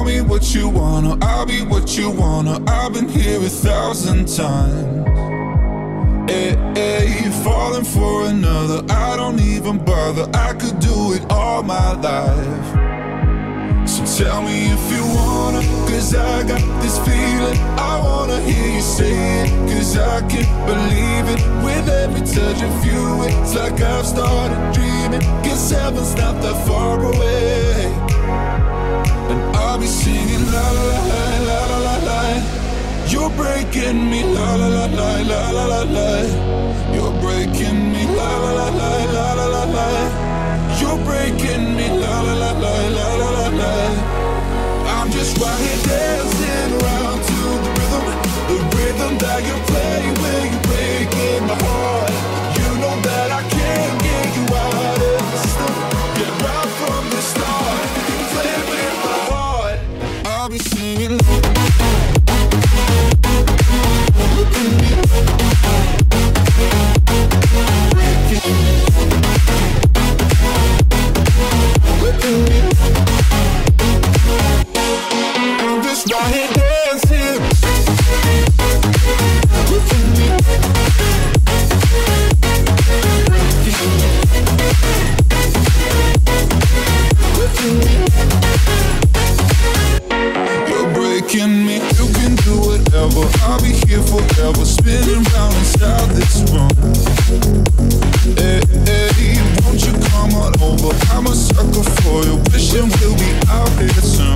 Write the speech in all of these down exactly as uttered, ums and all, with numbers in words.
me what you wanna, I'll be what you wanna. I've been here a thousand times. Hey, hey, falling for another, I don't even bother. I could do it all my life. So tell me if you wanna, cause I got this feeling. I wanna hear you say it, cause I can't believe it. With every touch of you, it's like I've started dreaming. Cause heaven's not that far away. And I'll be singing la la la la la la la. You're breaking me la la la la la la la la. You're breaking me la la la la la la la la. You're breaking me la la la la la la la la. I'm just right here dancing around to the rhythm, the rhythm that you play when you're breaking my heart. You know that I can't get you out of the system. Get right from the start, play with my heart. I'll be singing. Look at me. Breaking. Look at me. I'm just right here dancing. Look at me. Look at me. You're breaking me. You can do whatever. I'll be here forever, spinning round inside this room. Hey, hey, won't you come on over? I'm a sucker for you, wishing we'll be out here soon.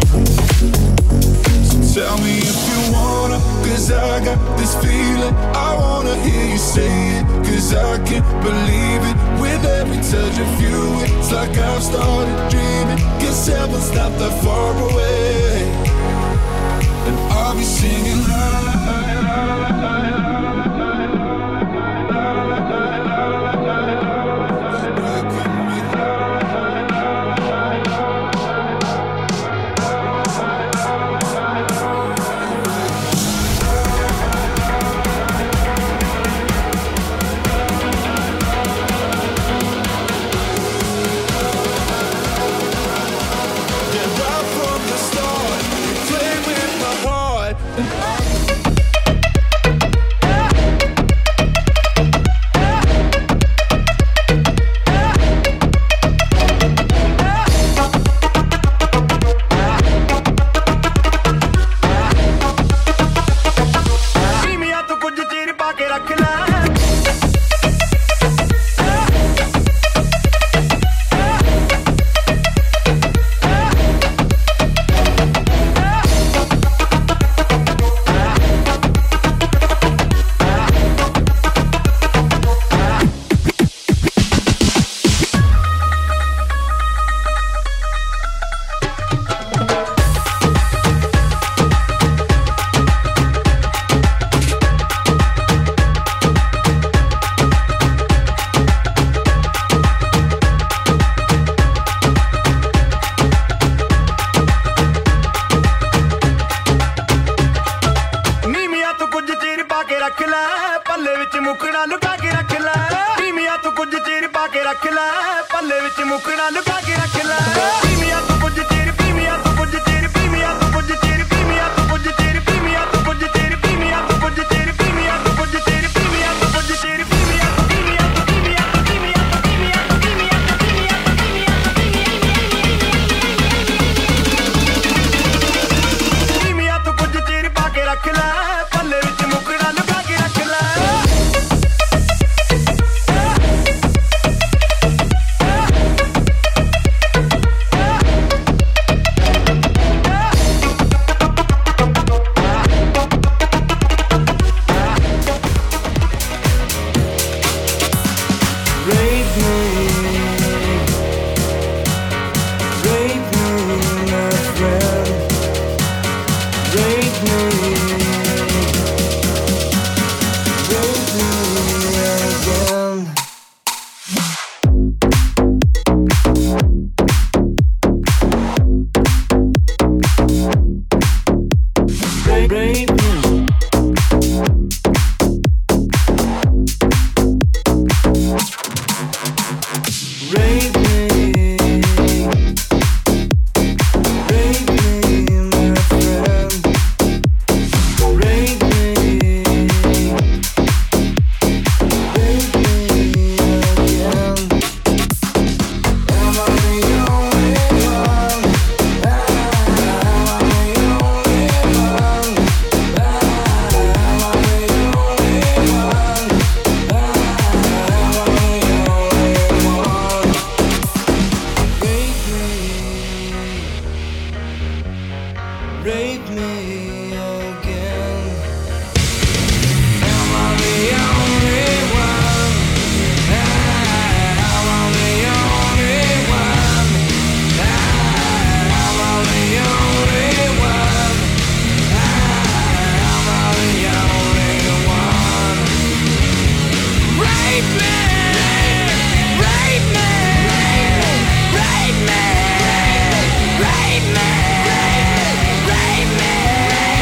So tell me if you wanna, cause I got this feeling. I wanna hear you say it, cause I can't believe it. With every touch of you, it's like I've started dreaming. Cause heaven's not that far away. And I'll be singing la la la la la la la. Yeah. rape me again. Am I the only one? Am I the only one? Am I the only one? Am I the only one? Rape me! Rape me! Rape me! Rape me! Rape me!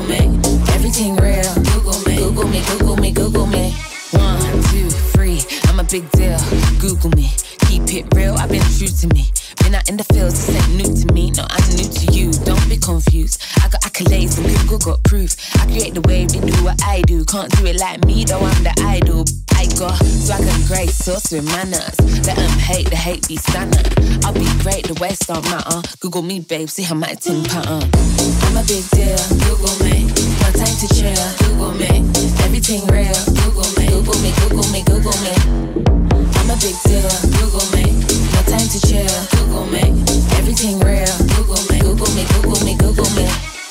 Google me. Everything real. Google me. Google me, Google me, Google me. One, two, three, I'm a big deal. Google me. Keep it real, I've been true to me. Been out in the fields, this ain't new to me. No, I'm new to you, don't be confused. I got accolades and Google got proof. I create the wave, they do what I do. Can't do it like me, though I'm the idol. I got swag and grace, sauce with manners. Let them hate, the hate be standard. I'll be great, the West don't matter. Google me, babe, see how my ting pattern. I'm a big deal, Google me. No time to chill, Google me. Everything real, Google me. Google me, Google me, Google me. I'm a big deal, Google me. No time to chill, Google me. Everything real, Google me. Google me, Google me, Google me.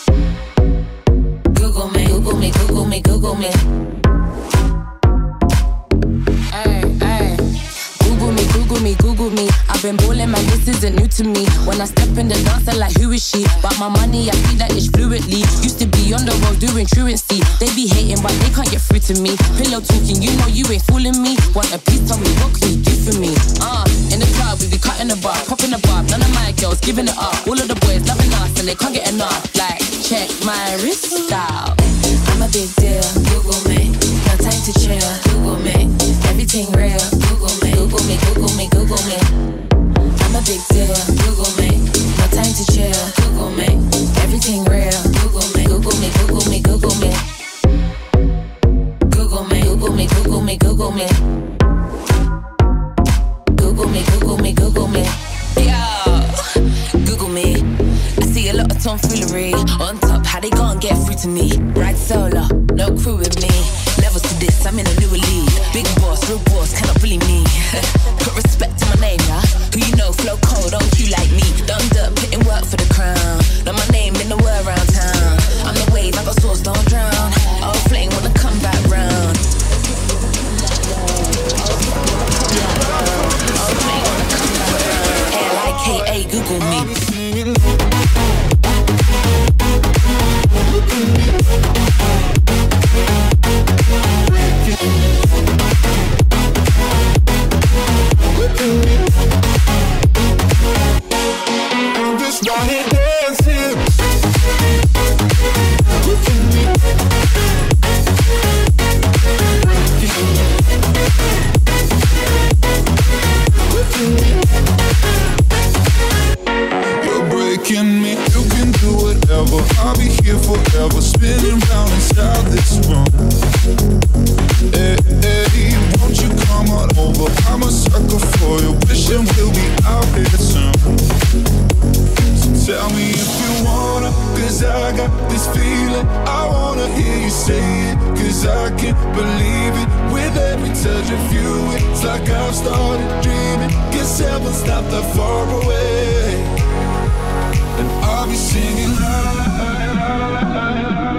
Google me, Google me, Google me, Google me. Ay, ay. Google me, Google me, Google me. I've been ballin', man, this isn't new to me. When I step in the dance, I'm like, who is she? But my money, I feel like it's fluently. Used to be on the road doing truancy. They be hating, but they can't get through to me. Pillow talking, you know you ain't fooling me. Want a piece, tell me, what can you do for me? Uh, in the club, we be cutting the bar, popping the bar. None of my girls giving it up. All of the boys loving us, and they can't get enough. Like, check my wrist style. I'm a big deal, Google me. No time to chill, Google me. Everything real, Google me. Google me, Google me, Google me. I'm a big deal, Google me. No time to chill, Google me. Everything real, Google me. Google me, Google me, Google me. Google me, Google me, Google me, Google me. Google me, Google me, Google me. Yo, Google me. I see a lot of tomfoolery. On top, how they gon' get through to me? Ride solo, no crew with me. Levels to this, I'm in a newer league. Big boss, real boss, cannot bully me. Put respect to my name, yeah. Who you know, flow cold, don't you like me? Done dirt, putting work for the crown. Know my name in the word around town. I'm the wave, I got sauce, don't drown. Oh, flame wanna come back round. Oh, flame wanna come back round. L I K A, Google me. I'm just right here dancing. You're breaking me. You can do whatever. I'll be here forever, spinning round inside this room. Hey, hey, won't you come on over? I'm a sucker for you, wishing we'll be out here soon. So tell me if you wanna, cause I got this feeling. I wanna hear you say it, cause I can't believe it. With every touch of you, it's like I've started dreaming. Guess heaven's not that far away. And I'll be singing la la la la la la.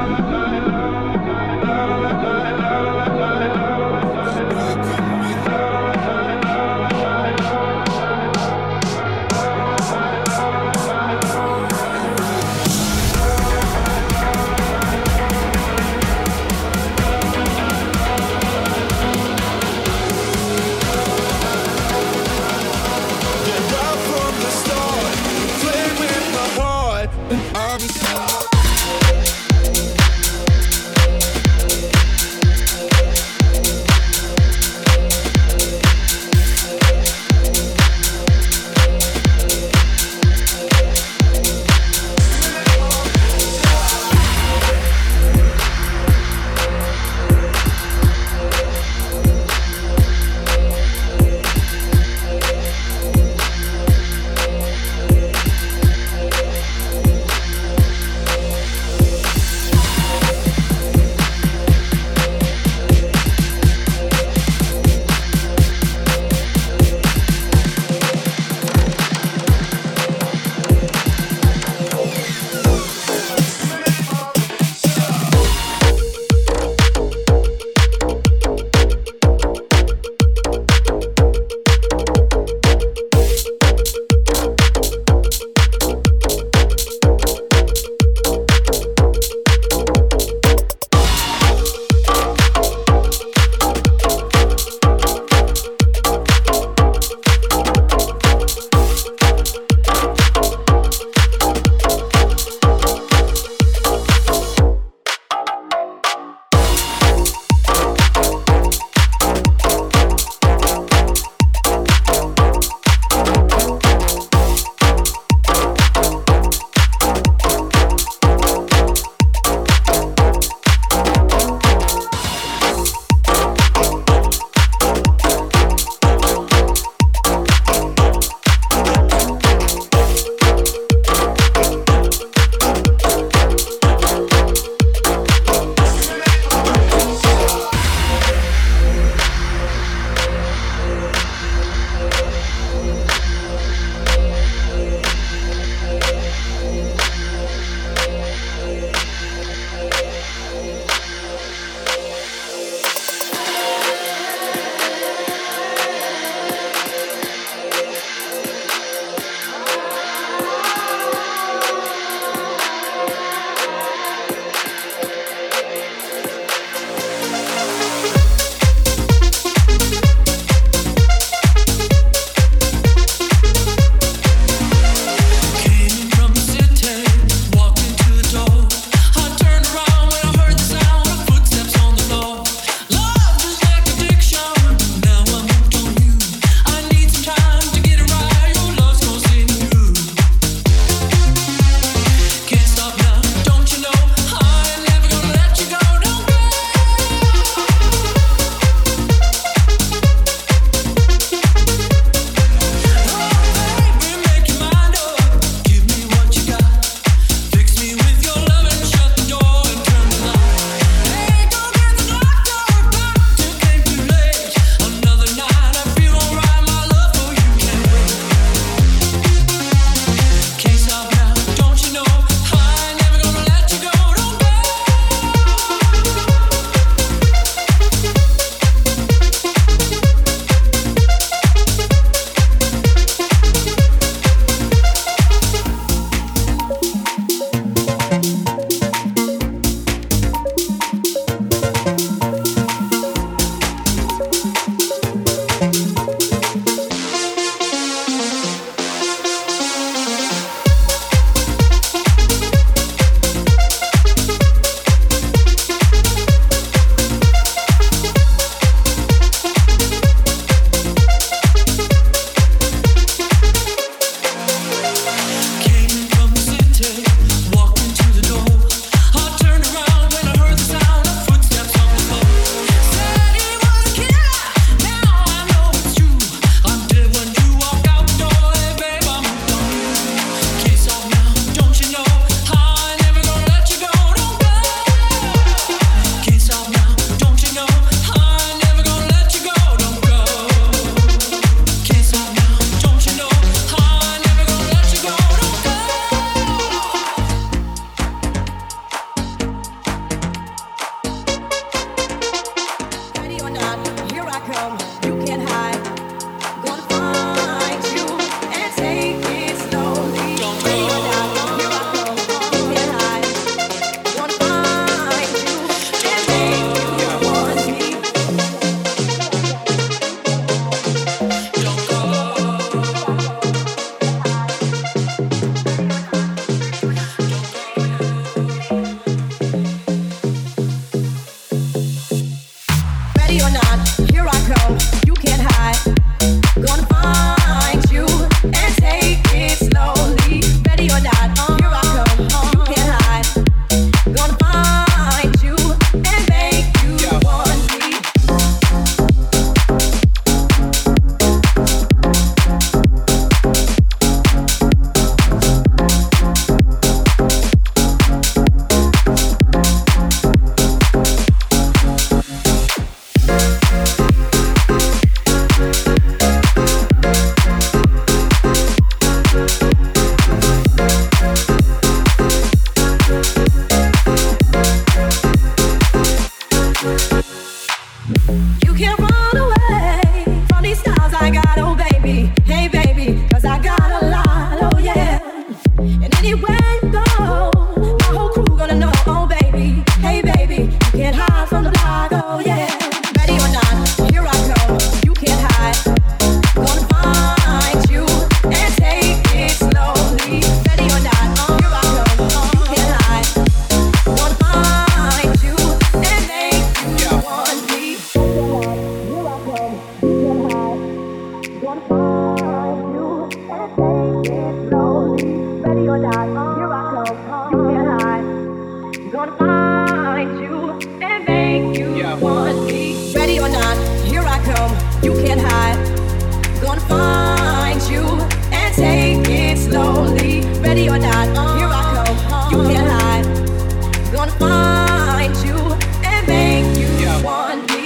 find you and make you yeah. want me. Ready or not, here I come. You can't hide. Gonna find you and take it slowly. Ready or not, here I come. You can't hide. Gonna find you and make you yeah. want me.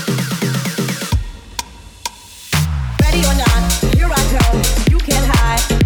Ready or not, here I come. You can't hide.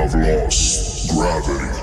have lost gravity.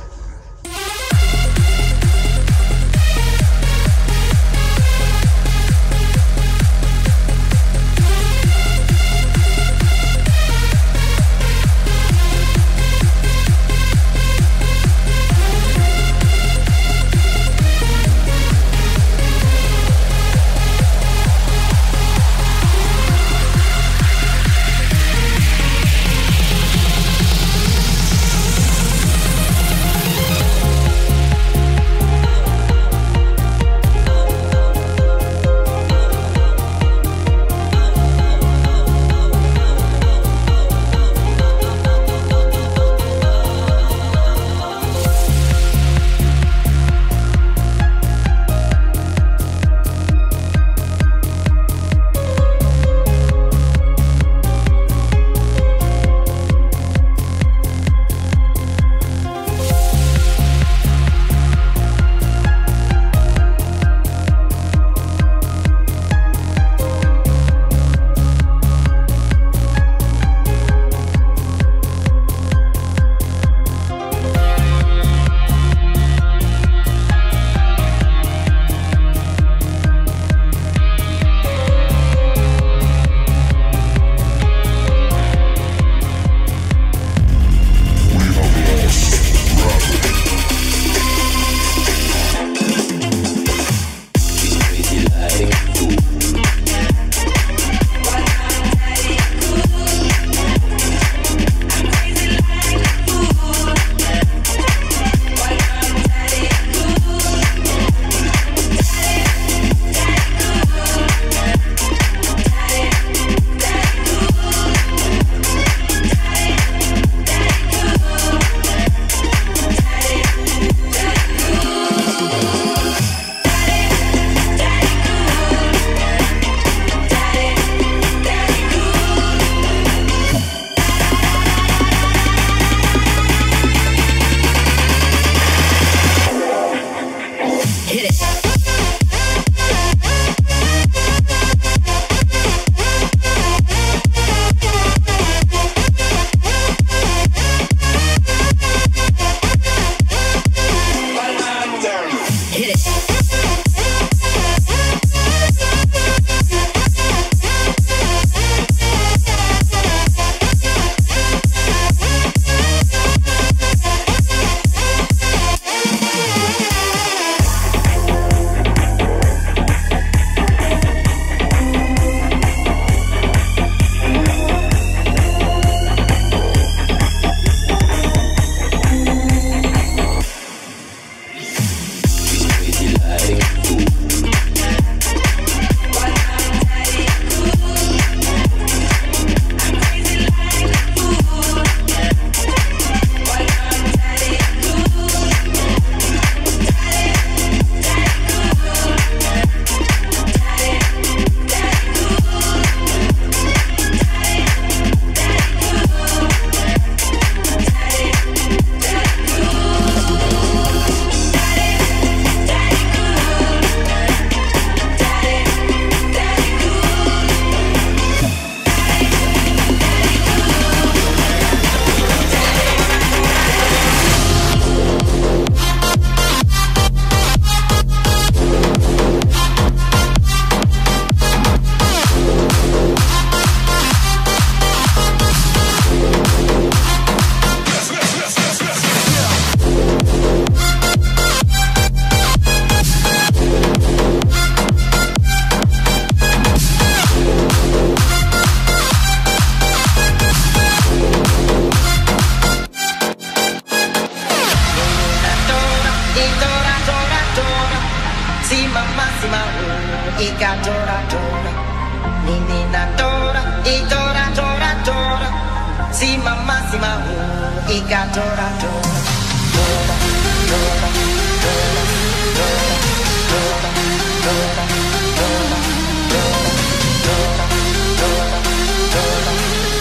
Ika tora tora, nini na tora, itora tora tora, si mama si mahu, ika tora tora, tora tora tora tora tora tora tora tora tora tora tora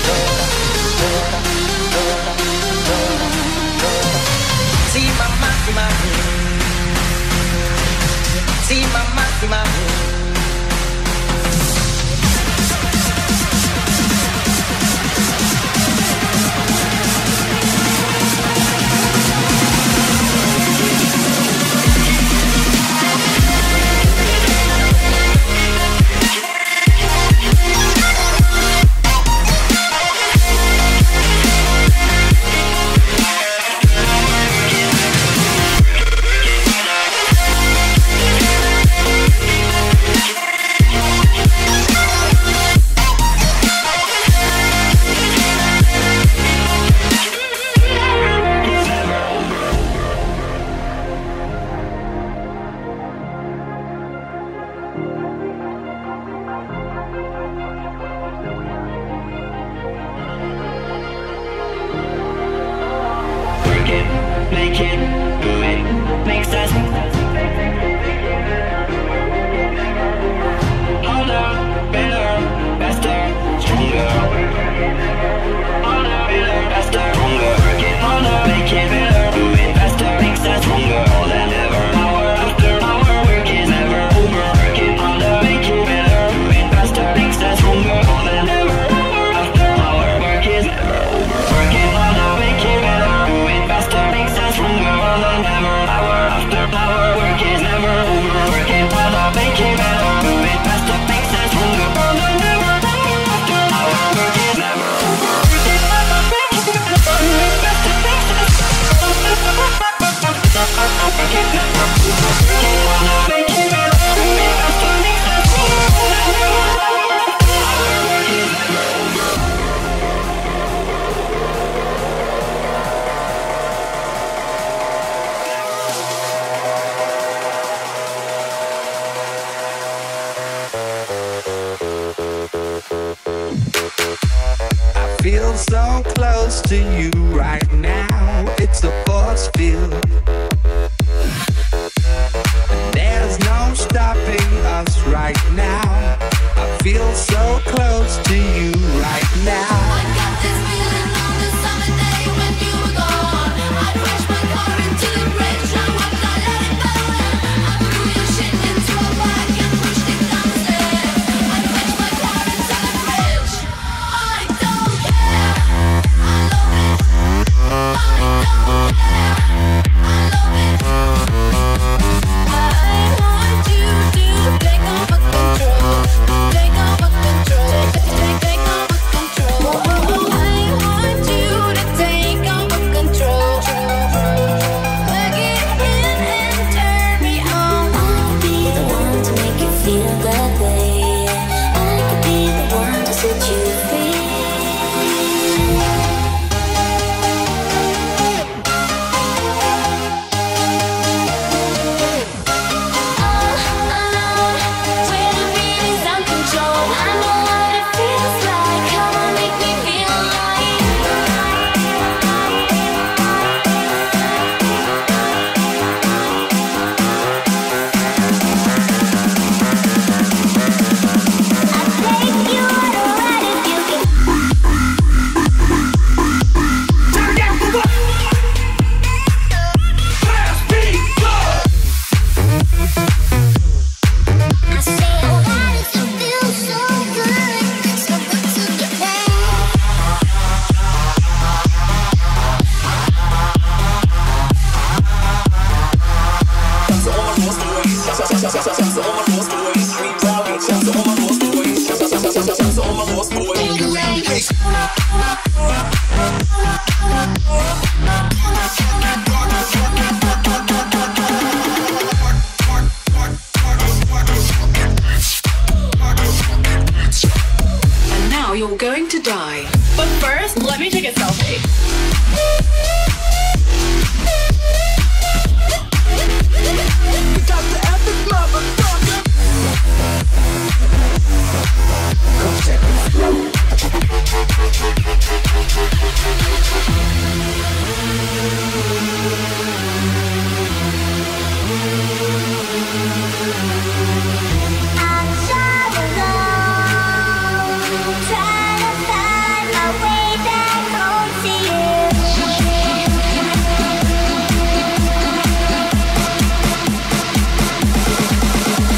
tora tora tora tora, si mama si mahu, si mama si mahu. feel so close to you right now. It's a force field. And there's no stopping us right now. I feel so close to you right now. I got this feeling on the summer day when you were gone. I crashed my car into the bridge. I hope I let it go. I threw your shit into a bag and pushed it downstairs. I crashed my car into the bridge. I don't care. I love it. I don't care. I love it. I want you to take over control. Take over control. Take, take, take over control. I want you to take over control. Plug it in and turn me on. I could be the one to make you feel that way. I could be the one to set you free. And now you're going to die. But first, let me take a selfie. Got the epic motherfucker. Come check I'm so alone, trying to find my way back home to you.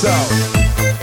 out.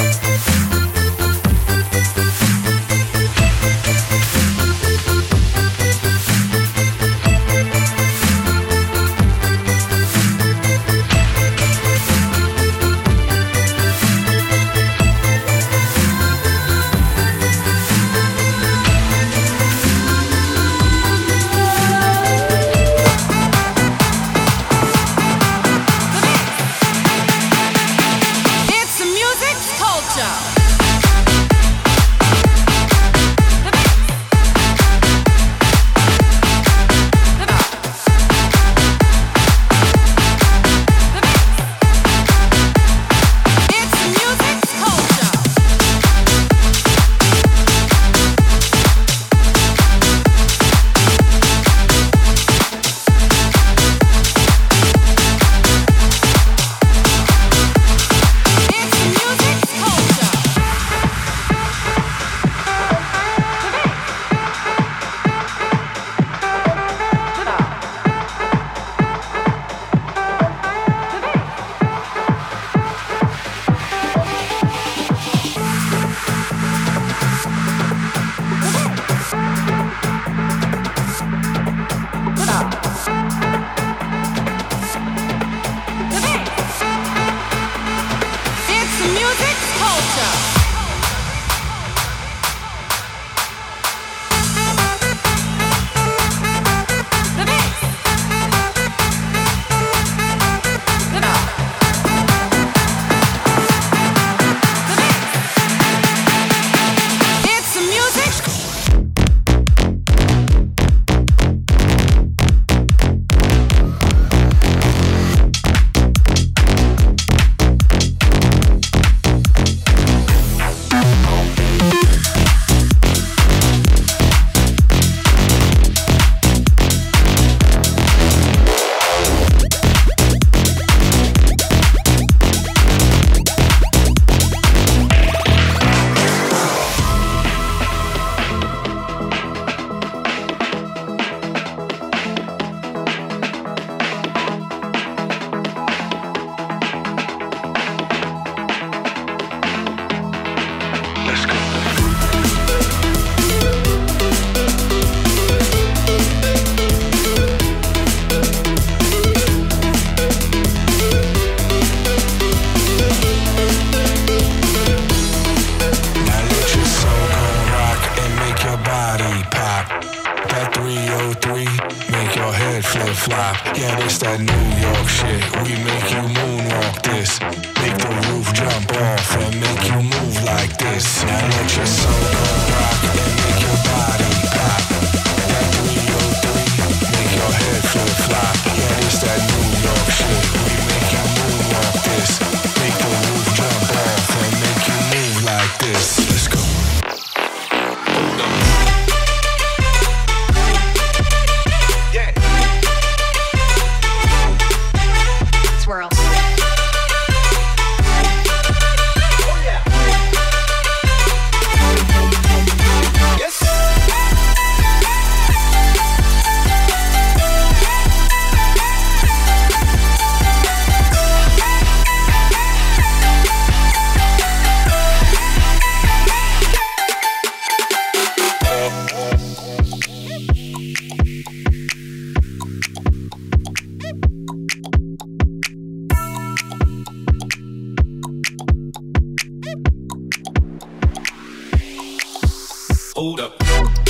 Hold up,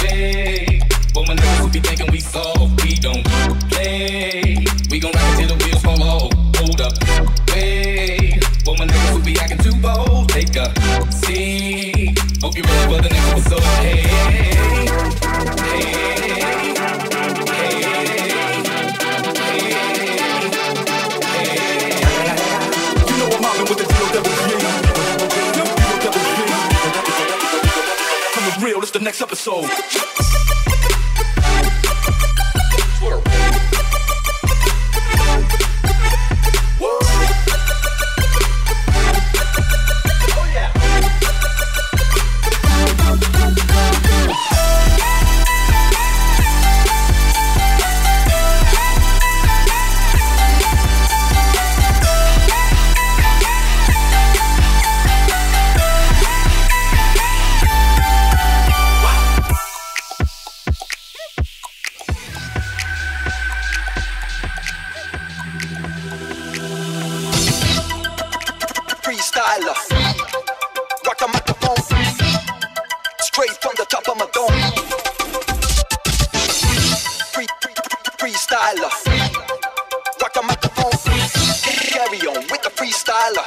hey, for my niggas who be thinking we soft, we don't play. We gon' rock it till the wheels fall off. Hold up, hey, for my niggas who be acting too bold, take a seat. Hope you ready for the next episode. Hey, hey, hey, hey. You know I'm mobbing with the D O double G. Real, it's the next episode. freestyler. Rock a microphone, straight from the top of my dome. Free, free, freestyler. Rock a microphone, carry on with the freestyler.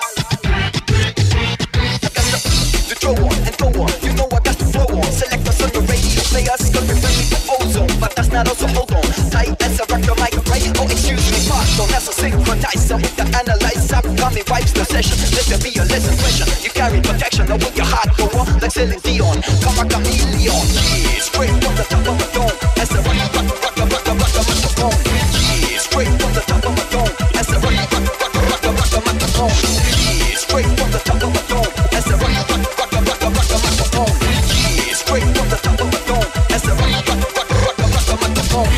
I got the, the throw on and go on, you know I got the flow on. Select us on the radio players, gonna be friendly to ozone, but that's not also hold on. Tight as a rock the mic, right? Oh excuse me, pardon, that's a synchronizer with the analyzer. Coming vibes the session, let there be a less impression. You carry protection, now with your heart go on like Celine Dion. Come a chameleon, yeah, straight from the top of my dome. As a rock, rock, rock, rock, rock, rock, rock, microphone. Yeah, straight from the top of my dome. As a rock, rock, rock, rock, rock, rock, microphone. Yeah, straight from the top of my dome. As a rock, rock, rock, rock, rock, rock, microphone. Yeah, straight from the top of my dome. As a rock, rock, rock, rock, rock, rock, microphone.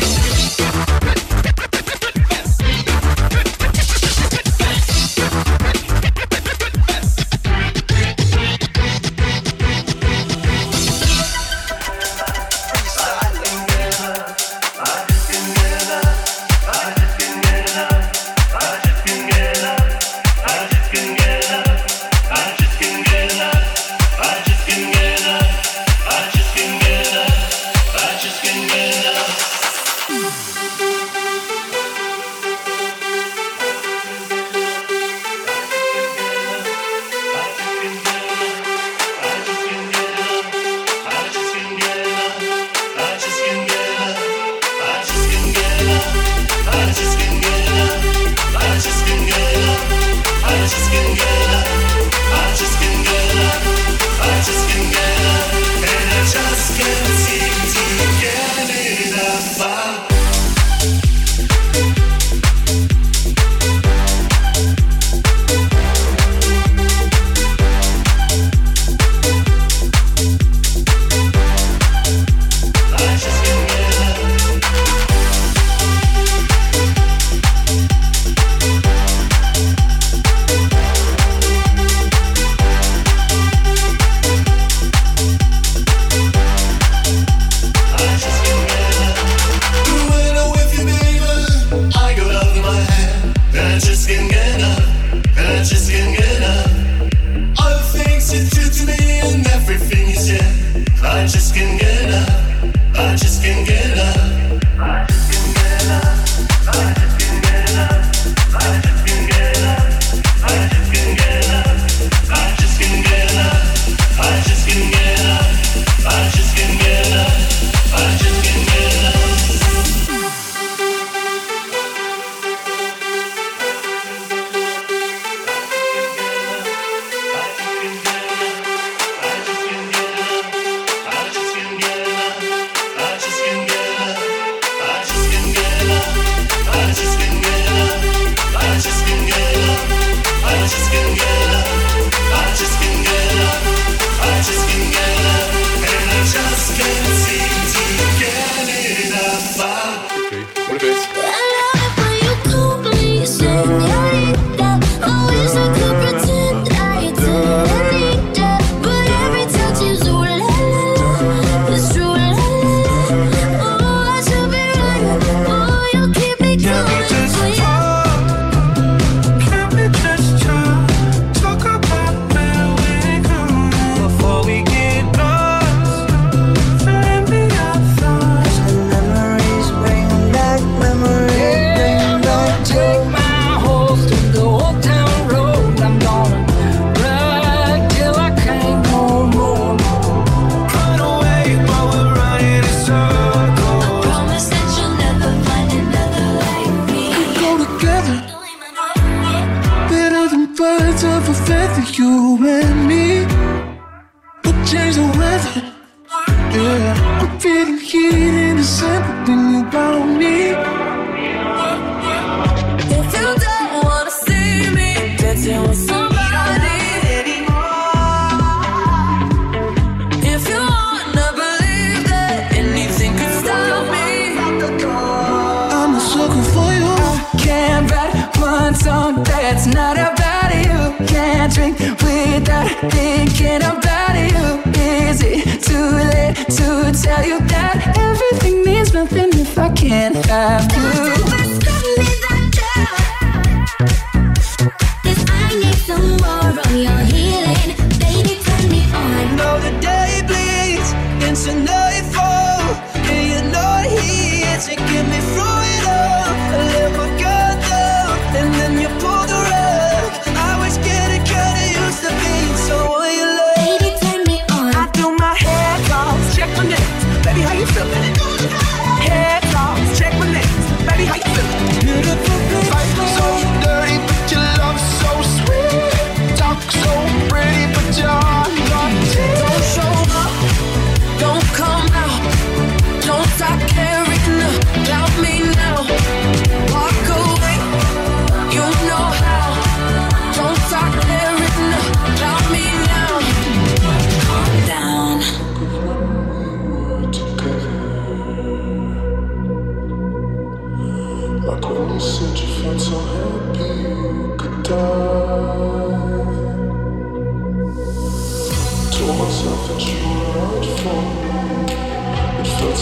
That's not about you. Can't drink without thinking about you. Is it too late to tell you that everything means nothing if I can't have you? Cause I need some more of your heat.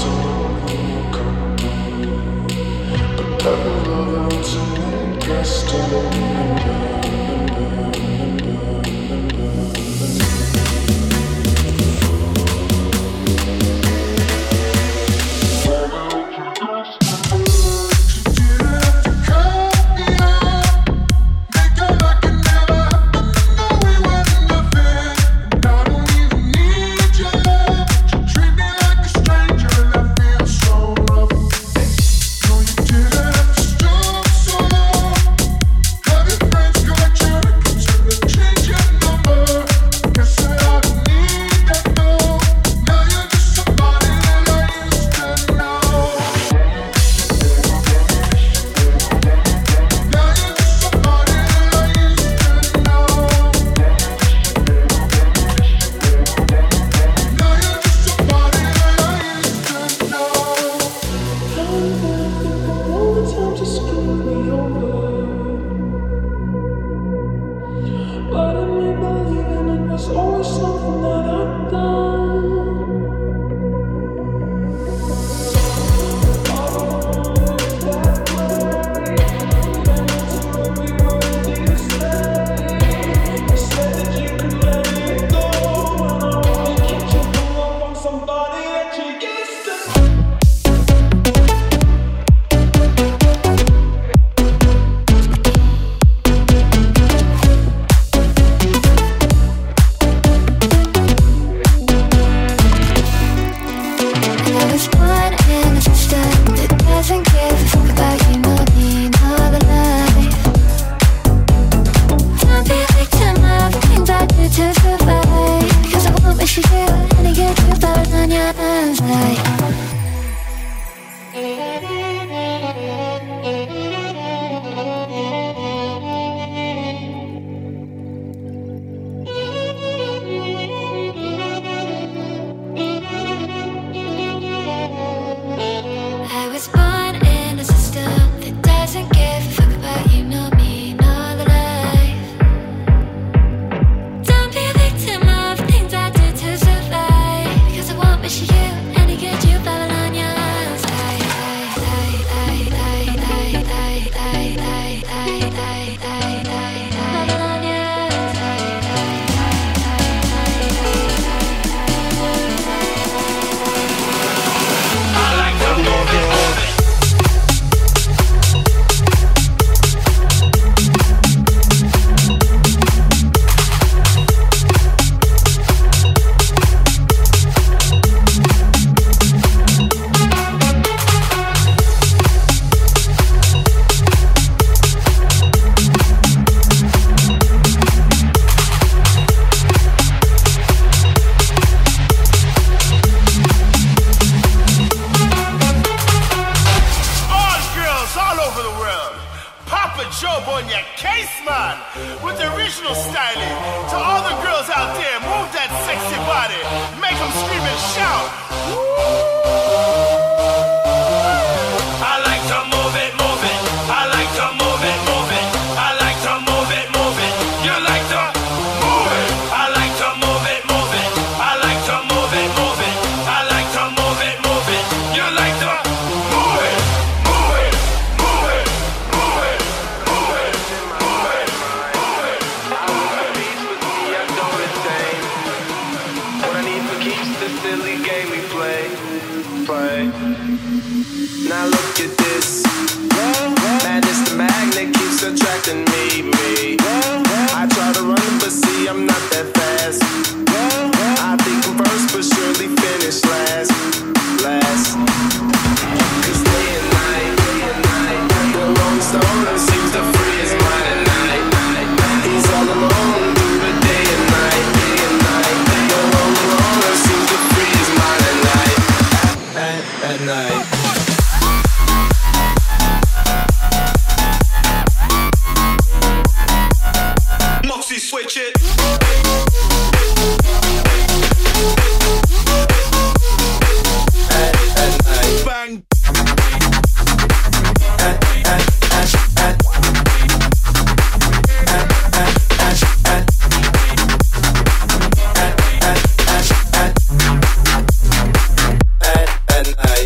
at night.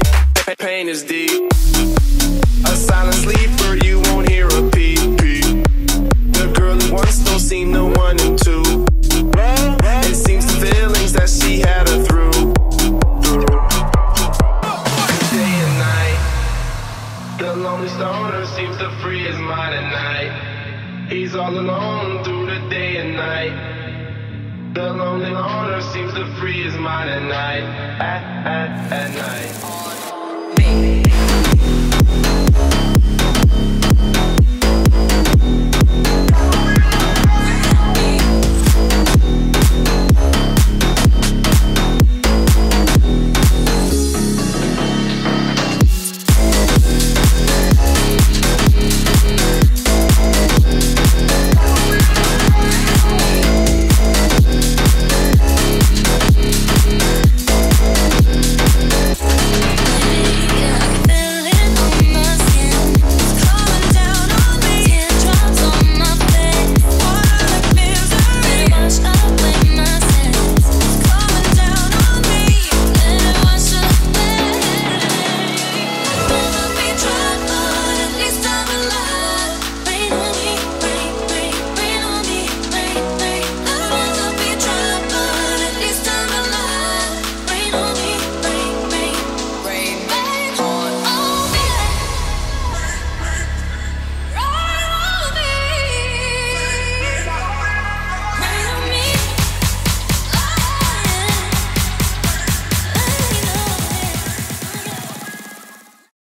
The lonely loner seems to free his mind at night, at, at, at night.